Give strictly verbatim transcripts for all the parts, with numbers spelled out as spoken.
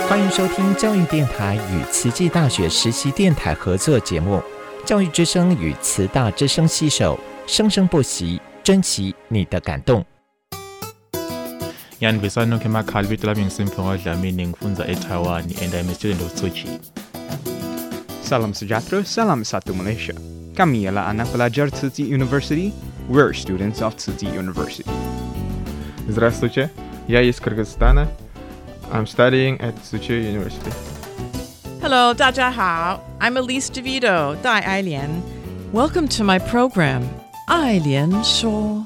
欢迎收听教育电台与慈济大学实习电台合作节目《教育之声》与慈大之声携手，生生不息，珍惜你的感动。 Ngiyanibisani nonke emakhaya bithi lami ngisimfungo Dlamini ngifunza eTaiwan and I'm a student of Tsuchi. Salam sejahtera, salam satu Malaysia. Kami ialah anak pelajar Tzu Chi University. We're students of Tzu Chi University. Здравствуйте, я из Кыргызстана. I'm studying at Tzu Chi University. Hello, 大家好. I'm Elise DeVito, 戴爱莲. Welcome to my program, 爱莲说.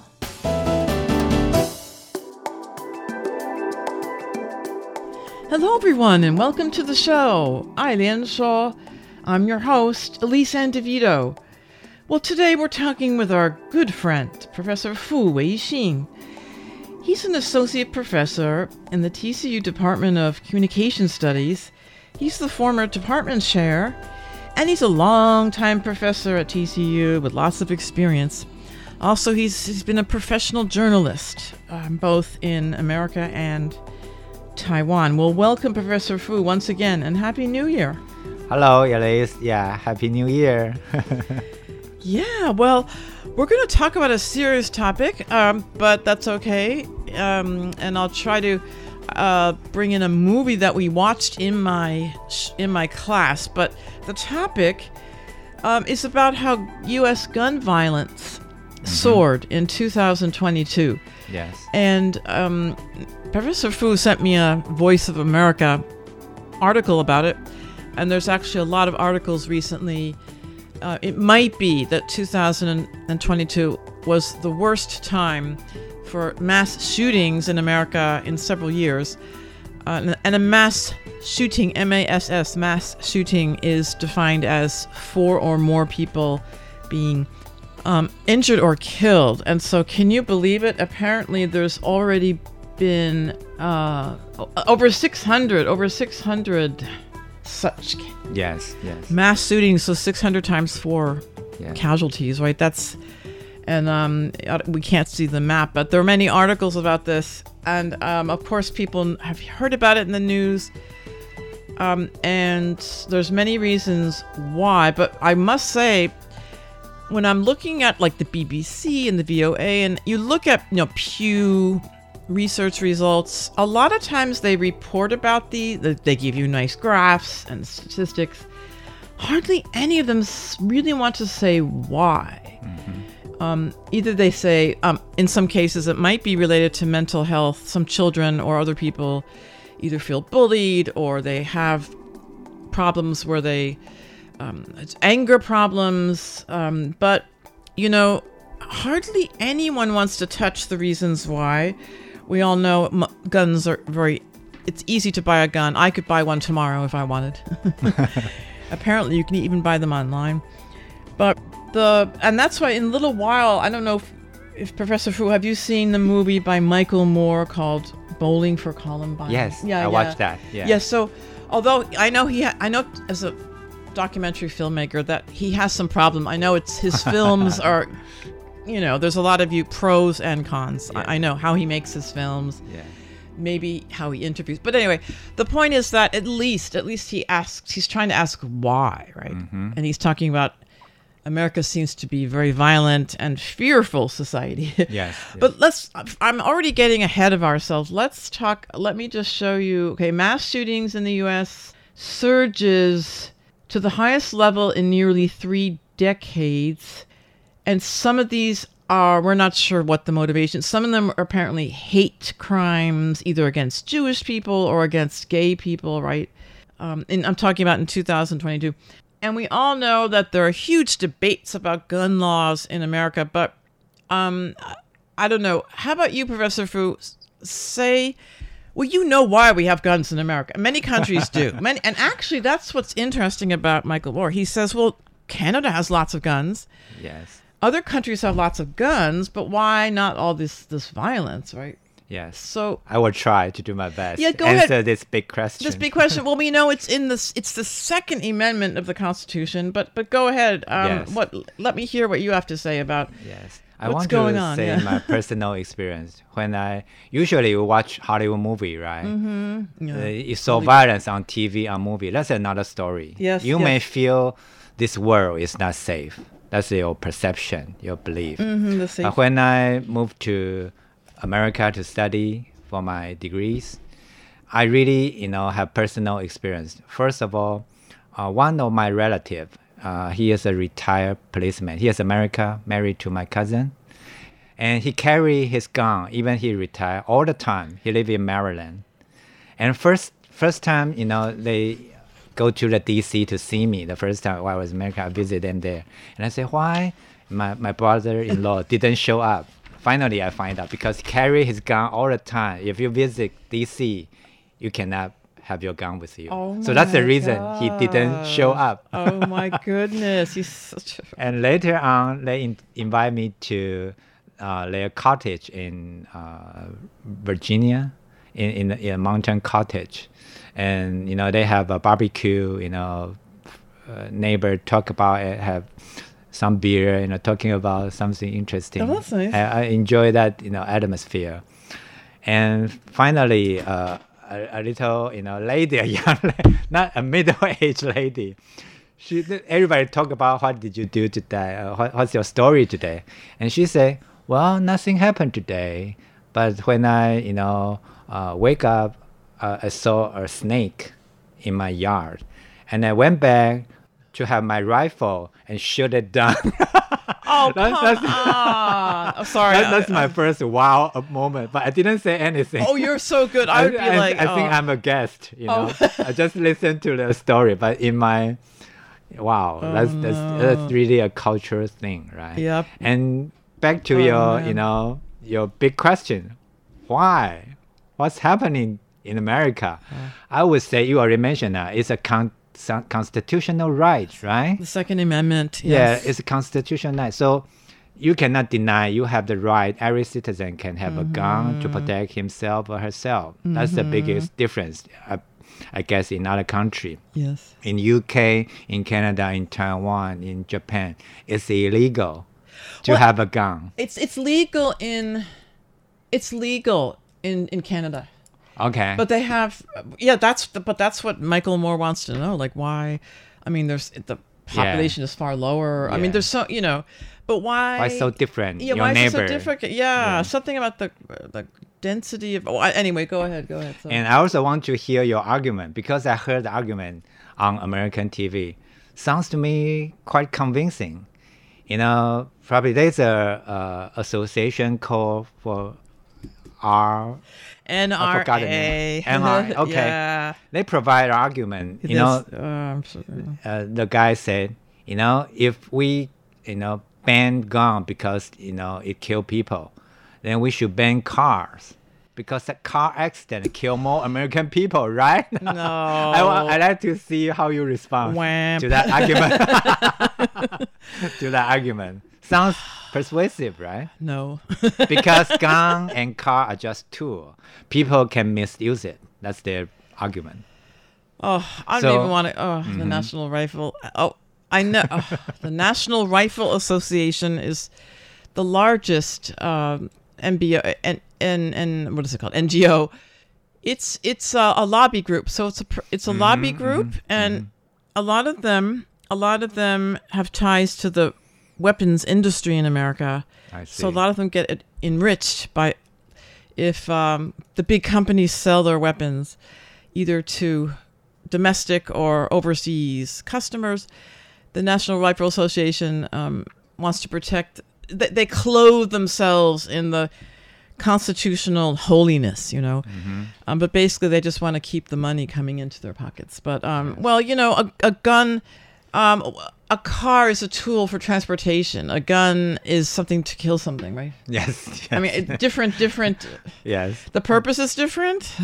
Hello, everyone, and welcome to the show, 爱莲说. I'm your host, Elise Ann DeVito. Well, today we're talking with our good friend, Professor Fu Weixin. He's an associate professor in the T C U Department of Communication Studies. He's the former department chair, and he's a long-time professor at T C U with lots of experience. Also, he's, he's been a professional journalist, um, both in America and Taiwan. Well, welcome, Professor Fu, once again, and Happy New Year. Hello, Elise. Yeah, Happy New Year. Yeah, well, we're going to talk about a serious topic, um, but that's okay. Um, and I'll try to uh, bring in a movie that we watched in my in my class. But the topic um, is about how U S gun violence mm-hmm. soared in two thousand twenty-two. Yes. And um, Professor Fu sent me a Voice of America article about it. And there's actually a lot of articles recently. Uh, it might be that two thousand twenty-two was the worst time for mass shootings in America in several years. Uh, and a mass shooting, M A S S, mass shooting, is defined as four or more people being um, injured or killed. And so can you believe it? Apparently there's already been uh, over six hundred, over six hundred such yes yes mass shootings, so six hundred times four yeah. casualties, right? That's and um we can't see the map, but there are many articles about this, and um of course people have heard about it in the news, um and there's many reasons why. But I must say, when I'm looking at like the B B C and the V O A, and you look at, you know, Pew research results, a lot of times they report about the, they give you nice graphs and statistics. Hardly any of them really want to say why. Mm-hmm. Um, either they say, um, in some cases, it might be related to mental health. Some children or other people either feel bullied, or they have problems where they, um, it's anger problems. Um, but, you know, hardly anyone wants to touch the reasons why. We all know m- guns are very, it's easy to buy a gun. I could buy one tomorrow if I wanted. Apparently you can even buy them online. But the, and that's why in a little while, I don't know if, if Professor Fu, have you seen the movie by Michael Moore called Bowling for Columbine? Yes, yeah, I yeah. watched that. Yeah. Yes, so although I know he, ha- I know as a documentary filmmaker that he has some problem. I know it's his films are, you know, there's a lot of you pros and cons. Yeah. I, I know how he makes his films, yeah. maybe how he interviews. But anyway, the point is that at least, at least he asks, he's trying to ask why, right? Mm-hmm. And he's talking about America seems to be a very violent and fearful society. Yes, yes. But let's, I'm already getting ahead of ourselves. Let's talk, let me just show you, okay, mass shootings in the U S surges to the highest level in nearly three decades. And some of these are, we're not sure what the motivation. Some of them are apparently hate crimes, either against Jewish people or against gay people, right? Um, and I'm talking about in two thousand twenty-two. And we all know that there are huge debates about gun laws in America, but um, I don't know. How about you, Professor Fu? Say, well, you know why we have guns in America. Many countries do. Many, and actually, that's what's interesting about Michael Moore. He says, well, Canada has lots of guns. Yes. Other countries have lots of guns, but why not all this, this violence, right? Yes. So I will try to do my best. Yeah, go answer ahead. this big question. This big question. Well, we know it's in this. It's the Second Amendment of the Constitution. But but go ahead. Um, Yes. What? Let me hear what you have to say about. Yes. I What's want going to on? say Yeah. my personal experience. When I usually watch Hollywood movie, right? Mm-hmm. Yeah. Uh, you saw violence on T V, on movie. That's another story. Yes, You may yes. feel this world is not safe. That's your perception, your belief. Mm-hmm, the safe. But when I moved to America to study for my degrees, I really, you know, have personal experience. First of all, uh, one of my relative, uh, he is a retired policeman. He is America, married to my cousin. And he carry his gun, even he retired all the time. He live in Maryland. And first first time, you know, they go to the D C to see me. The first time while I was in America, I visit them there. And I say, why my, my brother-in-law didn't show up? Finally, I find out because he carry his gun all the time. If you visit D C, you cannot have your gun with you. Oh so that's the my reason he didn't show up. Oh my goodness, he's such a... And later on, they in- invite me to uh, their cottage in uh, Virginia, in, in, in a mountain cottage. And, you know, they have a barbecue, you know, uh, neighbor talk about it, have some beer, you know, talking about something interesting. Oh, that's nice. I, I enjoy that, you know, atmosphere. And finally, uh, a, a little, you know, lady, a young lady, not a middle-aged lady. She, everybody talk about what did you do today? Uh, what, what's your story today? And she say, well, nothing happened today. But when I, you know, uh, wake up, uh, I saw a snake in my yard. And I went back to have my rifle and shoot it down. Oh, That's- come that's- on. I'm sorry. That, that's I- my I- first wow uh, moment. But I didn't say anything. Oh, you're so good. I would be I, like, I think oh. I'm a guest, you know. Oh. I just listened to the story, but in my, wow, that's, that's no. that's really a cultural thing, right? Yep. And back to Oh, your, man. you know, your big question, why? What's happening in America? I would say you already mentioned that it's a con- son- constitutional right, right? The Second Amendment. Yes. Yeah, it's a constitutional right. So you cannot deny you have the right. Every citizen can have a gun to protect himself or herself. That's the biggest difference, I, I guess, in other country. Yes. In U K, in Canada, in Taiwan, in Japan, it's illegal to Well, have a gun. It's it's legal in it's legal in in Canada. Okay. But they have, yeah, that's, the, but that's what Michael Moore wants to know. Like, why? I mean, there's the population is far lower. I Yeah. mean, there's so, you know, but why? why so different? Yeah, your why neighbor. is it so different? Yeah, something about the the density of. Oh, I- anyway, go ahead, go ahead. So. And I also want to hear your argument because I heard the argument on American T V. Sounds to me quite convincing. You know, probably there's a, a association called for R. N I R forgot the A. name. N R A, okay. Yeah. They provide an argument. You know, This- uh, I'm so- uh, the guy said, you know, if we, you know, ban gun because, you know, it kill people, then we should ban cars because a car accident kill more American people, right? No. I, wa- I like to see how you respond Wham. to that argument. to that argument. Sounds persuasive, right? No. Because gun and car are just tools. People can misuse it. That's their argument. Oh, I So- don't even want to. Oh, the National Rifle. Oh, I know. oh, the National Rifle Association is the largest um, N B O and and and what is it called? N G O. It's it's a, a lobby group. So it's a pr- it's a lobby group, and a lot of them a lot of them have ties to the weapons industry in America. I see. So a lot of them get it enriched by if um, the big companies sell their weapons either to domestic or overseas customers. The National Rifle Association um, wants to protect. They, they clothe themselves in the constitutional holiness, you know. Um, but basically, they just want to keep the money coming into their pockets. But um, well, you know, a, a gun. Um, a car is a tool for transportation. A gun is something to kill something, right? Yes. yes. I mean, it, different, different. yes. The purpose is different.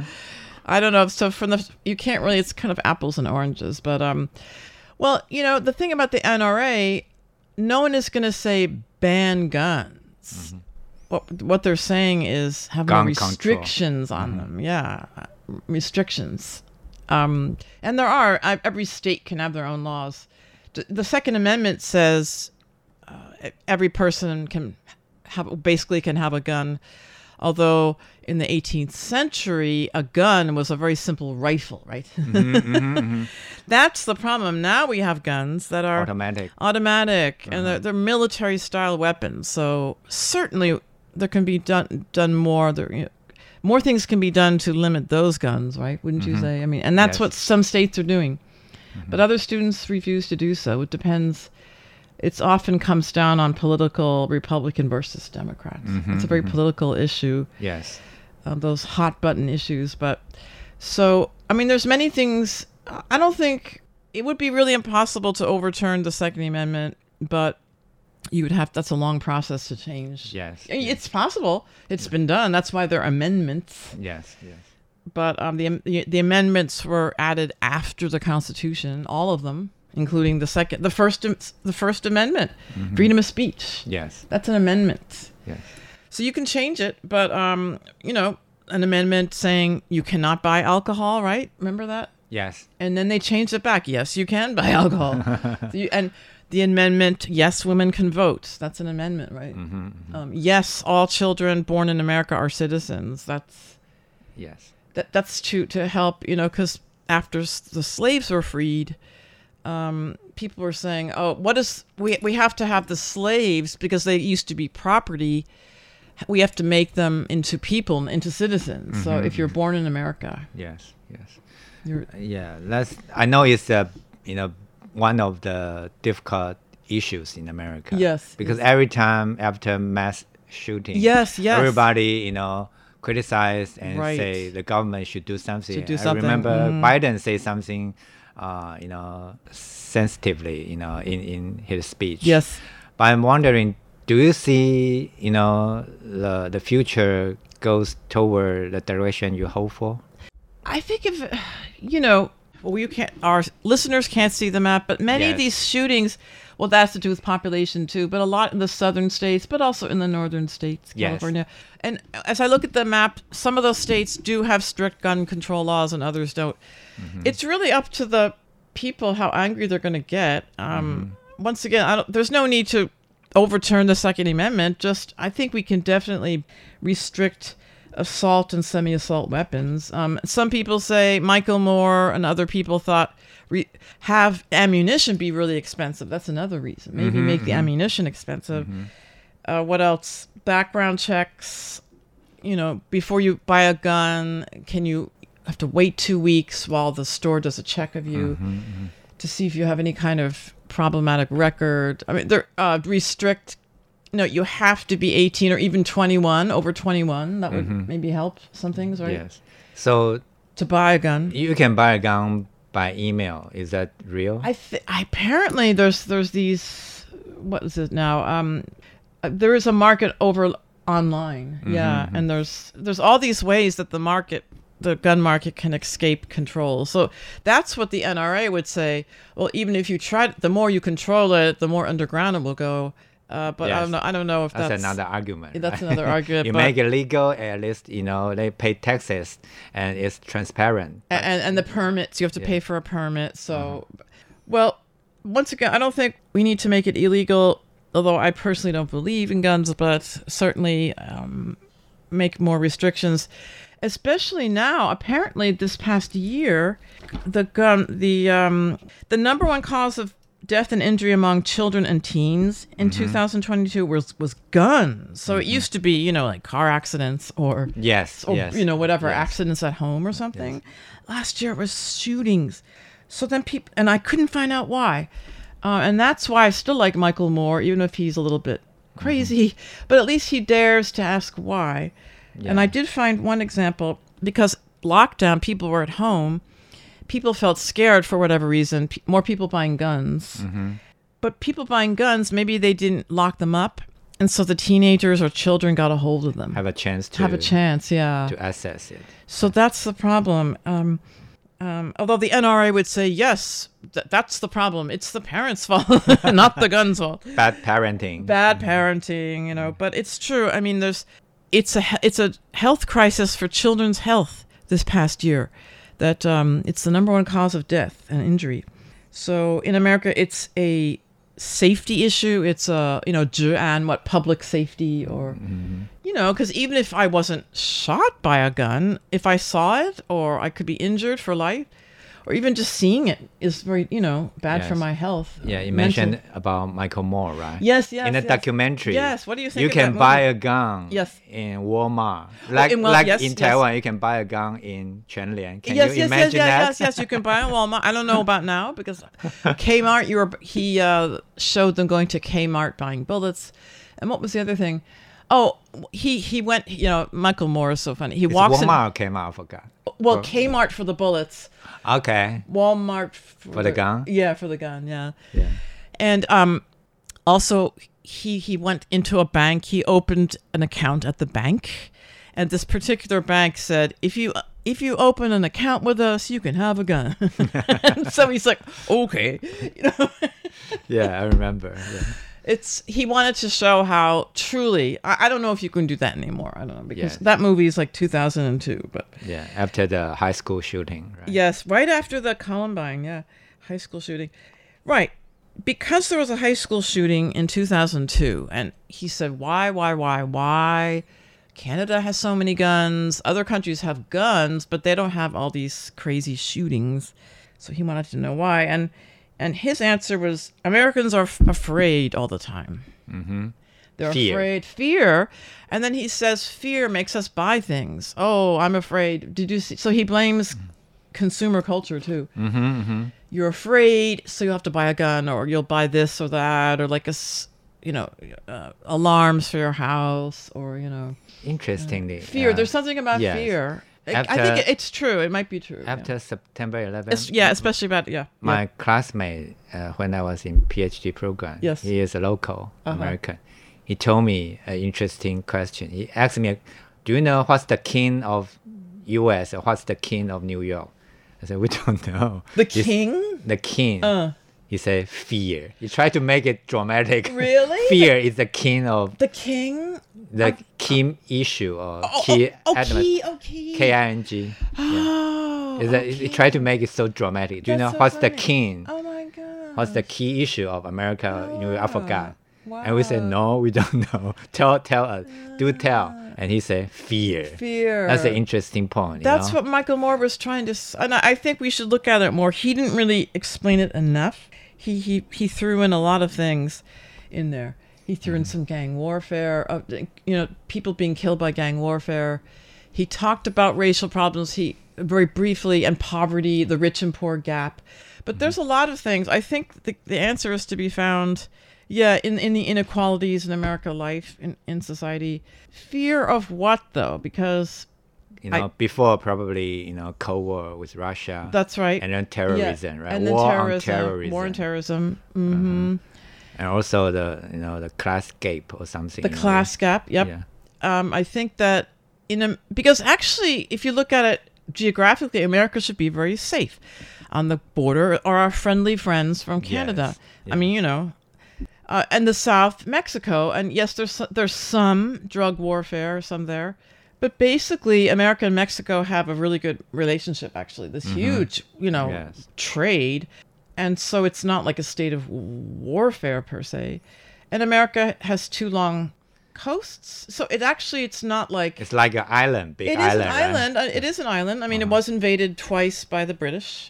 I don't know. So from the, you can't really. It's kind of apples and oranges. But um, well, you know, the thing about the N R A, no one is going to say ban guns. What what they're saying is have Gun more control. restrictions on them. Yeah, restrictions. Um, and there are. I, every state can have their own laws. D- The Second Amendment says uh, every person can have basically can have a gun. Although in the eighteenth century, a gun was a very simple rifle, right? Mm-hmm, mm-hmm, mm-hmm. That's the problem. Now we have guns that are Automatic. automatic, Uh-huh. and they're, they're military-style weapons. So certainly there can be done done more. There, you know, more things can be done to limit those guns, right? Wouldn't you say? I mean, and that's Yes. what some states are doing, but other students refuse to do so. It depends. It's often comes down on political Republican versus Democrats. It's a very political issue. Yes. Um, those hot button issues. But so, I mean, there's many things. I don't think it would be really impossible to overturn the Second Amendment, but you would have, that's a long process to change. Yes. I mean, it's possible. It's been done. That's why there are amendments. Yes. Yes. But um, the, the the amendments were added after the Constitution, all of them, including the second, the first, the First Amendment, freedom of speech. Yes. That's an amendment. Yes. So you can change it, but um, you know, an amendment saying you cannot buy alcohol, right? Remember that? Yes. And then they changed it back. Yes, you can buy alcohol. So you, and the amendment, yes, women can vote. That's an amendment, right? Mm-hmm, mm-hmm. Um, yes, all children born in America are citizens. That's Yes. that. That's to to help, you know, because after s- the slaves were freed, um, people were saying, "Oh, what is we we have to have the slaves because they used to be property. We have to make them into people, into citizens. So if you're born in America, Yes. Yes. you're Yeah. That's. I know it's a you know one of the difficult issues in America. Yes, Because yes. every time after mass shooting, Yes, yes. everybody you know criticize and Right. say the government should do something. Should do I something, remember mhm. Biden say something, uh, you know, sensitively, you know, in in his speech. yes. But I'm wondering, do you see, you know, the the future goes toward the direction you hope for? I think if you know, well, you can't. Our listeners can't see the map, but many of Yes. these shootings, well, that's to do with population too, but a lot in the southern states, but also in the northern states, Yes. California. And as I look at the map, some of those states do have strict gun control laws, and others don't. It's really up to the people how angry they're going to get. Um, Once again, I don't, there's no need to overturn the Second Amendment. Just I think we can definitely restrict assault and semi-assault weapons. Um, some people say Michael Moore and other people thought re- have ammunition be really expensive. That's another reason. Maybe make the ammunition expensive. Uh, what else? Background checks. You know, before you buy a gun, can you have to wait two weeks while the store does a check of you to see if you have any kind of problematic record? I mean, they're uh, restrict. No, you have to be eighteen or even twenty-one, over twenty-one. That would maybe help some things, right? Yes. So To buy a gun. you can buy a gun by email. Is that real? I th- apparently there's there's these, what is it now? Um, uh, there is a market over online. Yeah, and there's there's all these ways that the market, the gun market, can escape control. So that's what the N R A would say. Well, even if you try, the more you control it, the more underground it will go. Uh, but I Yes. don't know. I don't know if That's, that's, another argument. that's right? another argument, you but- make it legal, at least you know they pay taxes and it's transparent. A- and and the permits, you have to Yeah. pay for a permit. So, well, once again, I don't think we need to make it illegal. Although I personally don't believe in guns, but certainly um, make more restrictions. Especially now, apparently, this past year, the gun, the um, the number one cause of death and injury among children and teens in two thousand twenty-two was was guns. So it used to be, you know, like car accidents or Yes. or yes. you know, whatever, yes. accidents at home or something. Last year it was shootings. So then people, and I couldn't find out why. Uh, and that's why I still like Michael Moore, even if he's a little bit crazy, but at least he dares to ask why. And I did find one example, because lockdown, people were at home. People felt scared for whatever reason. P- more people buying guns. But people buying guns, maybe they didn't lock them up. And so the teenagers or children got a hold of them. Have a chance to Have a chance, yeah. to access it. So that's the problem. Um, um, although the N R A would say, yes, th- that's the problem. It's the parents' fault, not the gun's fault. Bad parenting. Bad parenting, you know. But it's true. I mean, there's, it's a he- it's a health crisis for children's health this past year. That um, it's the number one cause of death and injury. So in America, it's a safety issue. It's a, you know, 治安, what, public safety, or, you know, because even if I wasn't shot by a gun, if I saw it, or I could be injured for life, or even just seeing it is very, you know, bad Yes. for my health. Yeah, you mental- mentioned about Michael Moore, right? Yes, yes, In the yes. documentary. Yes, what do you think You of can that buy movie? a gun. Yes. In Walmart, like in Wal- like yes, in yes. Taiwan, you can buy a gun in Quanlian. Can yes, you yes, imagine yes, that? yes, yes, you can buy it at Walmart. I don't know about now because Kmart, you were, he uh, showed them going to Kmart buying bullets. And what was the other thing? Oh, he, he went, you know, Michael Moore is so funny. He It's walks in, Walmart came out, I forgot. well, Kmart for the bullets, Okay. Walmart for, For the gun? Yeah, for the gun, yeah. Yeah. And um, also, he he went into a bank. He opened an account at the bank, and this particular bank said, "If you if you open an account with us, you can have a gun." And so he's like, "Okay," you know. Yeah, I remember. Yeah. It's he wanted to show how truly. I, I don't know if you can do that anymore. I don't know because Yes. that movie is like two thousand two, but. Yeah. After the high school shooting, right? Yes, right after the Columbine, yeah, high school shooting. Right. Because there was a high school shooting in two thousand two, and he said, why, why, why, why? Canada has so many guns. Other countries have guns, but they don't have all these crazy shootings. So he wanted to know why. And and his answer was, Americans are f- afraid all the time. Mm-hmm. They're Fear. afraid. Fear. And then he says, fear makes us buy things. Oh, I'm afraid. Did you see? So he blames consumer culture too. Mm-hmm, mm-hmm. You're afraid, so you have to buy a gun, or you'll buy this or that, or like a, s- you know, uh, alarms for your house, or, you know, Interestingly. fear. uh, There's something about yes. fear. I- I After- think it- it's true. It might be true. yeah. After September eleventh. Es- yeah, especially about, yeah. My yeah. classmate, uh, when I was in PhD program, Yes. he is a local Uh-huh. American. He told me an interesting question. He asked me, "Do you know what's the king of U S or what's the king of New York?" I said, "We don't know." The He's- king? The king. Uh. He said, "Fear." He tried to make it dramatic. Really? Fear is the king of The king? the key issue or Oh, key oh, oh, element. key, oh, key. K I N G. Oh, Is that, okay. He tried to make it so dramatic. Do you That's know so what's the funny. king? Oh my god. What's the key issue of America? You know, I forgot. Wow. And we said, no, we don't know. tell, tell us. Do tell. And he said, fear. Fear. That's an interesting point. you That's know? what Michael Moore was trying to, s- and I I think we should look at it more. He didn't really explain it enough. He he he threw in a lot of things in there. He threw in some gang warfare, uh, you know, people being killed by gang warfare. He talked about racial problems. He very briefly and poverty, the rich and poor gap. But there's a lot of things. I think the the answer is to be found. Yeah, in, in the inequalities in America life, in, in society. Fear of what, though? Because You know, I- before probably, you know, Cold War with Russia. that's right. And then terrorism, right? And then war terrorism, on terrorism. War and terrorism. hmm And also the, you know, the class gap or something. The you know, class gap. Yep. Yeah. Um, I think that in a, because actually, if you look at it geographically, America should be very safe. On the border are our friendly friends from Canada. Yes, I yeah. mean, you know, uh, and the South, Mexico, and yes, there's there's some drug warfare, some there, but basically, America and Mexico have a really good relationship. Actually, this huge, you know, Yes. trade, and so it's not like a state of warfare per se. And America has two long coasts, so it actually it's not like It's like an island, big it is island. an right? island. Uh, It is an island. I mean, it was invaded twice by the British.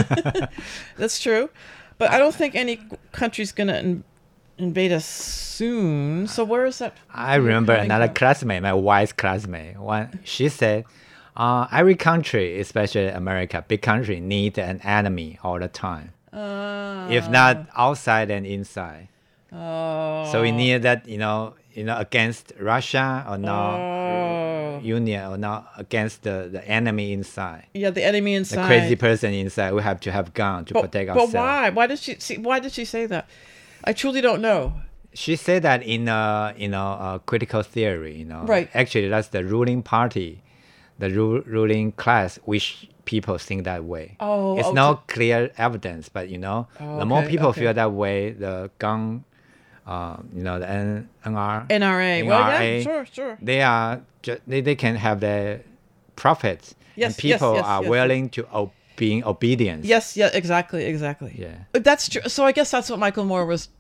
That's true. But I don't think any country's going to in- invade us soon. So where is that? I remember coming another from? classmate, my wife's classmate. One, she said, uh, every country, especially America, big country, need an enemy all the time. Uh, If not outside and inside. oh. So we need that, you know, you know, against Russia or not Oh. Union or not against the, the enemy inside. Yeah, the enemy The inside. crazy person inside. We have to have gun to But, protect but ourselves. why? Why did she see? Why did she say that? I truly don't know. She said that in a you know a critical theory, you know. Right. Actually, that's the ruling party, the ru- ruling class, which people think that way. Oh, it's oh, no to- clear evidence, but you know, Oh, the more okay, people okay. feel that way, the gun, uh, you know, the N- NR, N R A. Well, yeah, N R A, sure, sure. they are ju- they, they can have their profits, Yes, and yes, people yes, are yes, willing to o- being obedient. Yes, yeah, exactly, exactly. Yeah. But that's true. So I guess that's what Michael Moore was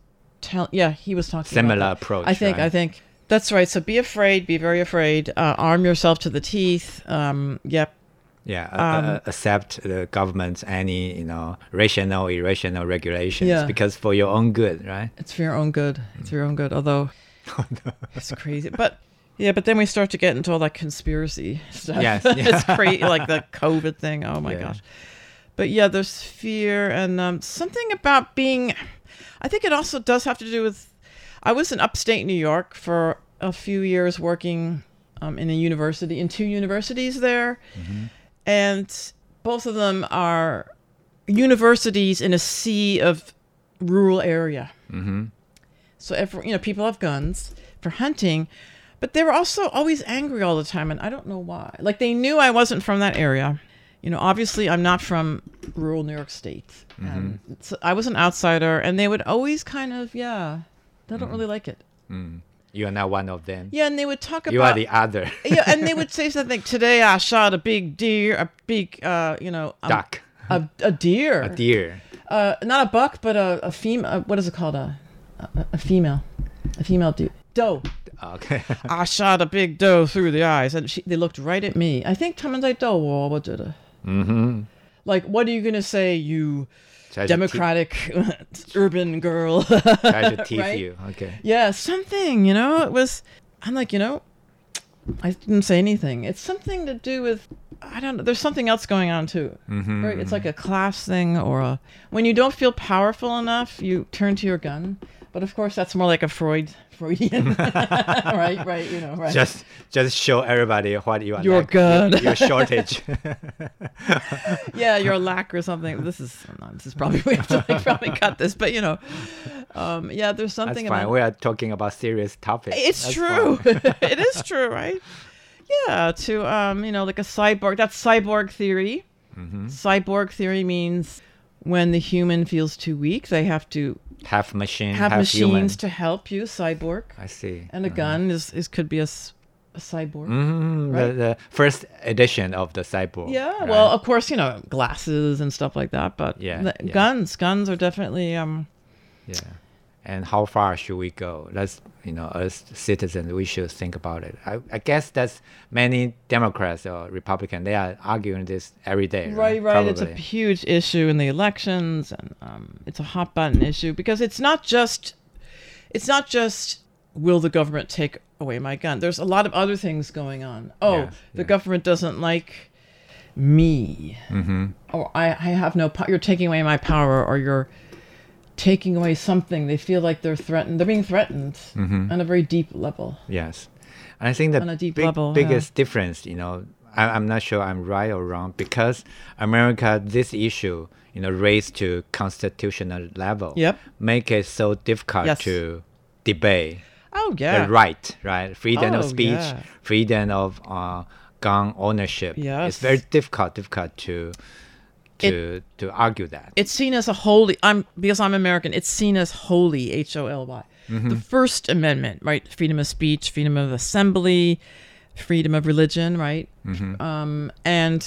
tell. Yeah, he was talking Similar about that. approach, I think. right? I think that's right. So be afraid. Be very afraid. Uh, arm yourself to the teeth. Um, yep. Yeah, uh, Um, uh, accept the government's any, you know, rational, irrational regulations Yeah. because for your own good, right? It's for your own good. It's for your own good. Although it's crazy, but yeah, but then we start to get into all that conspiracy stuff. Yes, it's yeah. crazy, like the COVID thing. Oh my Yeah. gosh. But yeah, there's fear and um, something about being. I think it also does have to do with. I was in upstate New York for a few years working um, in a university, in two universities there, and both of them are universities in a sea of rural area. Mm-hmm. So if you know, people have guns for hunting, but they were also always angry all the time, and I don't know why. Like they knew I wasn't from that area. You know, obviously I'm not from rural New York State. And so I was an outsider, and they would always kind of, yeah, they don't really like it. Mm. You are not one of them. Yeah, and they would talk You are about the other. yeah, and they would say something. Today I shot a big deer, a big, uh, you know, a, Duck. a, a deer, A deer. uh, not a buck, but a, a female. What is it called? A, a, a female, a female deer. Doe. Okay. I shot a big doe through the eyes, and she, they looked right at me. I think 他们在逗我，我觉得。 Mm-hmm. Like, what are you gonna say, you Try to democratic urban girl? Te- try to tease Right? you. Okay. Yeah, something. You know, it was. I'm like, you know, I didn't say anything. It's something to do with. I don't know. There's something else going on too. Mm-hmm. Right? It's like a class thing, or a when you don't feel powerful enough, you turn to your gun. But of course, that's more like a Freud, Freudian, right? Right? You know, right? Just, just show everybody what you are. You're lack- good. Your, your shortage. Yeah, you're a lack or something. This is no, this is probably we have to like, probably cut this, but you know, um, yeah, there's That's something fine. about We are talking about serious topics. it's That's true. fine. It is true, right? Yeah, to um, you know, like a cyborg. That's cyborg theory. Mm-hmm. Cyborg theory means when the human feels too weak, they have to Half machine, have half machines human. to help you. Cyborg, I see. and a gun is, is could be a, s- a cyborg. Mm, Right? the, the first edition of the cyborg. Yeah, right? well, of course, you know, glasses and stuff like that, but Yeah, the- yeah. guns, guns are definitely um. yeah. And how far should we go? That's, you know, as citizens, we should think about it. I, I guess that's many Democrats or Republicans, they are arguing this every day. Right, Right, right. It's a Probably. huge issue in the elections, and um, it's a hot button issue because it's not just, it's not just will the government take away my gun. There's a lot of other things going on. Oh, Yeah, the yeah. government doesn't like me, Mm-hmm. or I, I have no. Po- you're taking away my power, or you're taking away something. They feel like they're threatened. They're being threatened Mm-hmm. on a very deep level. Yes. And I think the On a deep big, level, yeah. biggest difference, you know, I, I'm not sure I'm right or wrong, because America, this issue, you know, raised to constitutional level, Yep. make it so difficult Yes. to debate Oh yeah. the right, right? Freedom Oh, of speech, yeah. freedom of uh, gun ownership. Yes. It's very difficult, difficult to to to argue that. It's seen as a holy. I'm because I'm American. It's seen as holy. H O L Y. Mm-hmm. The First Amendment, right? Freedom of speech, freedom of assembly, freedom of religion, right? Mm-hmm. Um, and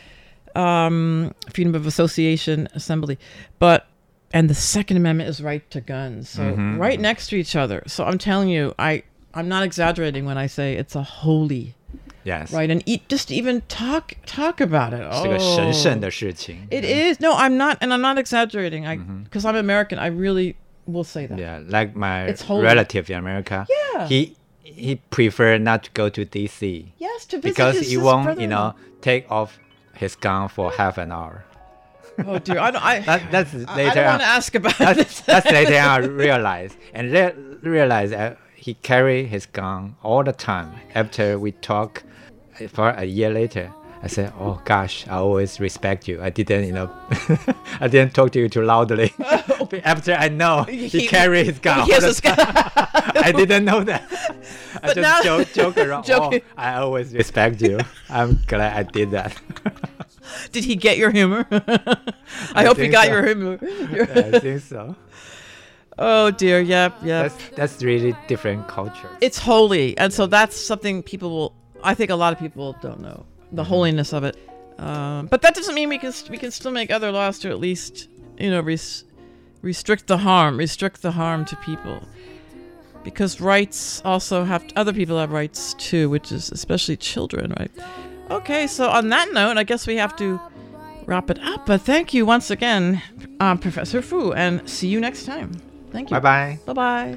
um, freedom of association, assembly, but and the Second Amendment is right to guns. So Mhm. right next to each other. So I'm telling you, I I'm not exaggerating when I say it's a holy, Yes. right? And eat just even talk talk about it. 是个神圣 Oh. 的事情。 It is. No, I'm not, and I'm not exaggerating. I because I'm American, I really will say that. Yeah, like my It's holy. relative in America. Yeah. He he prefer not to go to D C Yes, to visit because his, he his won't, brother. you know, take off his gun for half an hour. Oh dear, I don't. I, That, that's I- I later don't on. want to ask about That's, this. that's later on I realized and re- realized that he carry his gun all the time. After we talk for a year later, I said, "Oh gosh, I always respect you. I didn't, you know, I didn't talk to you too loudly." After I know he, He- carry his gun, He all has the a time. I didn't know that. I But just now- joke, joke around. Joking. Oh, I always respect you. I'm glad I did that. Did he get your humor? I, I hope he think got so. your humor. I think so. Oh dear, yep, yep. That's that's really different culture. It's holy, and so that's something people will. I think a lot of people don't know the holiness of it. Um, but that doesn't mean we can we can still make other laws to at least you know res- restrict the harm, restrict the harm to people. Because rights also have, other people have rights too, which is especially children, right? Okay, so on that note, I guess we have to wrap it up. But thank you once again, um, Professor Fu, and see you next time. Thank you. Bye-bye. Bye-bye.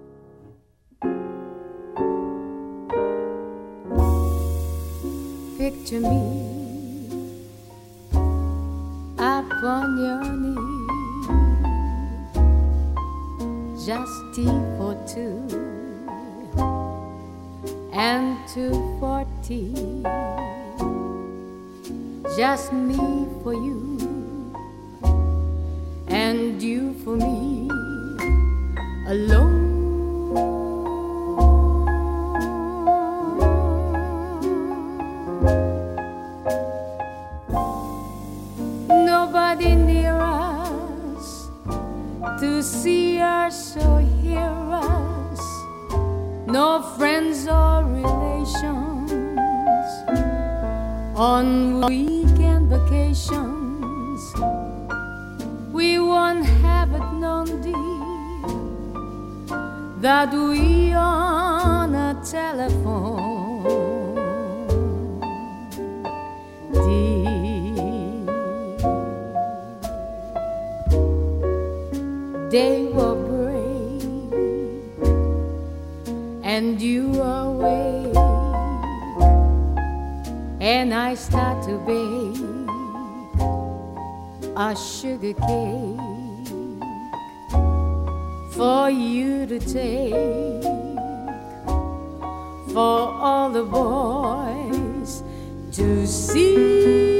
Picture me up on your knee, just tea for two and two for tea, just me for you and you for me alone. Nobody near us to see us or hear us, no friends or relations on weekend vacations. We won't have it known, dear, that we on a telephone, dear. Day will break and you awake, and I start to bake a sugar cake for you to take, for all the boys to see.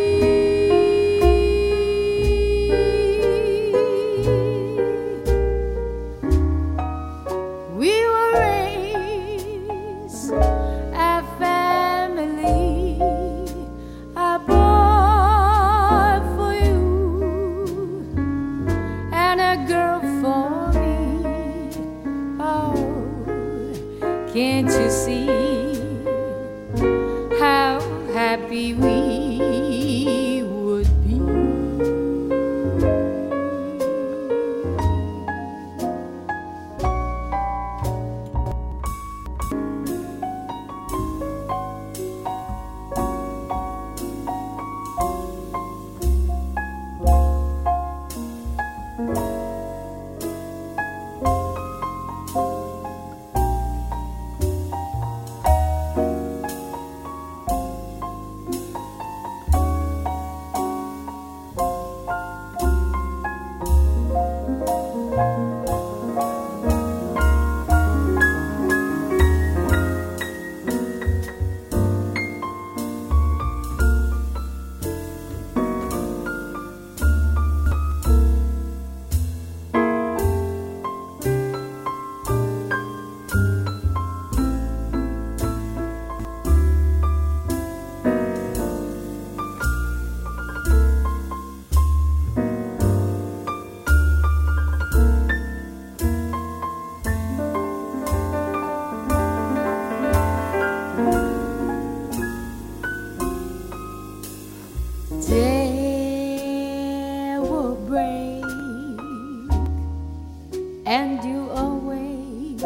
Can't you see how happy we would be? Day will break and you awake,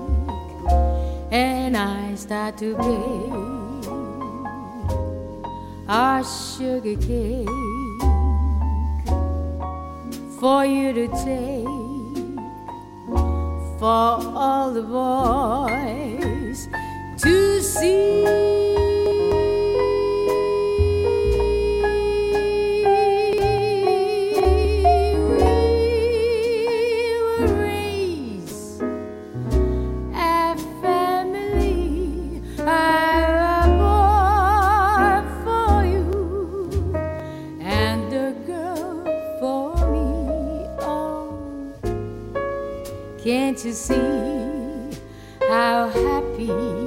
and I start to bake our sugar cake for you to take, for all the boys to see. Can't you see how happy